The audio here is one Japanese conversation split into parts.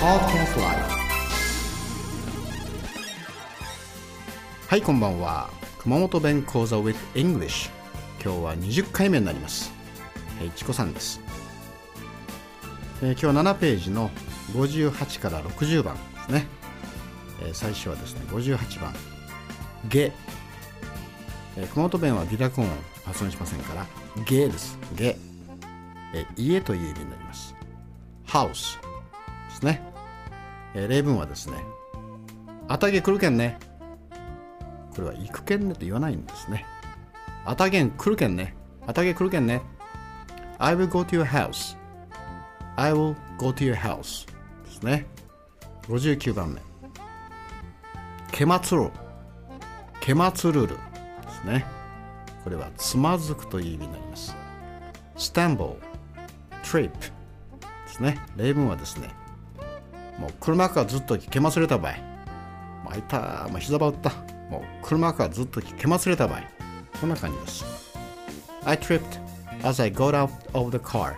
Podcast Live。 はい、こんばんは。熊本弁講座 with English。 今日は20回目になります。いちこさんです。今日は7ページの58から60番ですね。最初はですね、58番ゲ、熊本弁は微濁音を発音しませんからゲです。ゲ、家という意味になります。ハウスですね。例文はですね、あたげ来るけんね。これは行くけんねと言わないんですね。あたげん来るけんね。あたげ来るけんね。I will go to your house。 I will go to your house ですね。59番目けまつる。けまつるるですね。これはつまずくという意味になります。stumble、trip ですね。例文はですね、もう車からずっとけまつれた場合、あいた、膝ば打った、もう車からずっとけまつれた場合、こんな感じです。 I tripped as I got out of the car。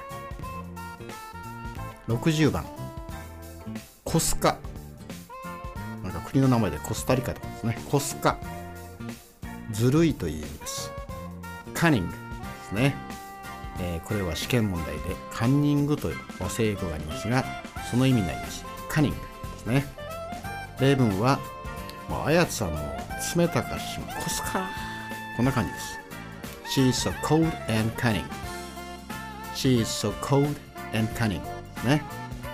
60番コスカ、なんか国の名前でコスタリカとかですね。コスカ、ずるいという意味です。カニングですね。これは試験問題でカンニングという和製英語がありますが、その意味になります。カニングですね。例文はもうあやつさんの冷たかしコスカ、こんな感じです。 She is so cold and cunning。 She is so cold and cunning ですね。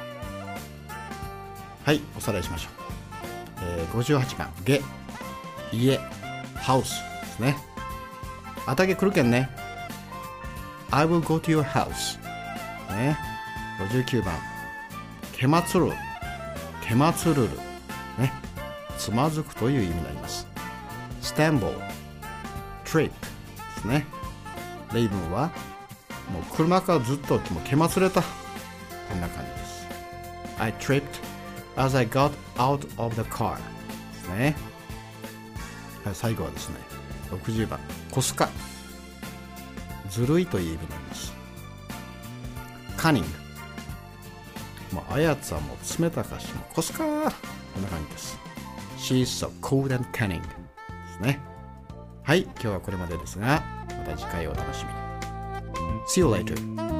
はい、おさらいしましょう。58番ゲ、家、ハウスですね。あたげ来るけんね。 I will go to your house、ね。59番けまつる。けまつるる、ね。つまずくという意味になります。stumble、trip ですね。例文はもう車からずっともうけまつれた、こんな感じです。 I tripped as I got out of the car ですね。はい、最後はですね、60番コスカ、ずるいという意味になります。カニング、もうあやつはもう冷たかしもコスカ、こんな感じです。 She is so cold and cunning ですね。はい、今日はこれまでですが、また次回お楽しみに。 See you later.